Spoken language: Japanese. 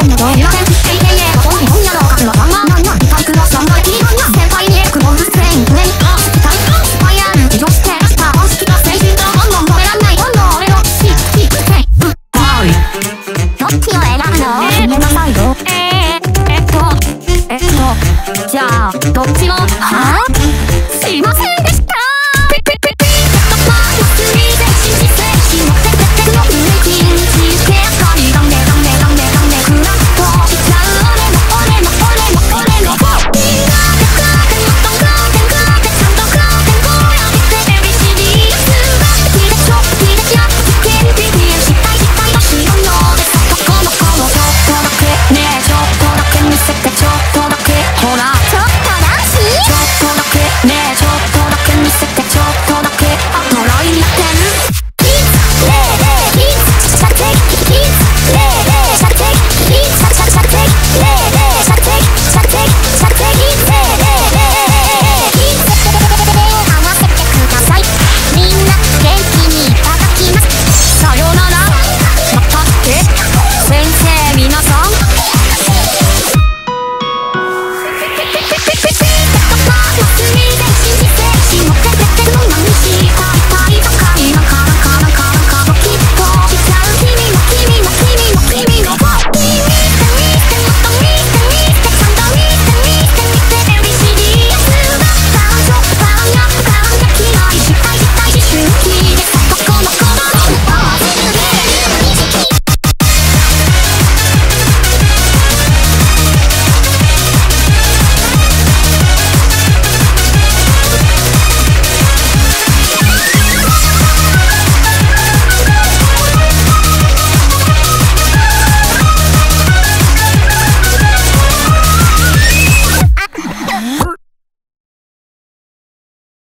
んのどういう点本日本屋の数のまんまなんや体育の3倍いいなんや先輩にエクボールスプレイン上に期待スパイアン女子テラスター本式と青春と本能止めらんない本能俺のどっちを選ぶの？決めなさいよ。じゃあどっちもはぁ？しません。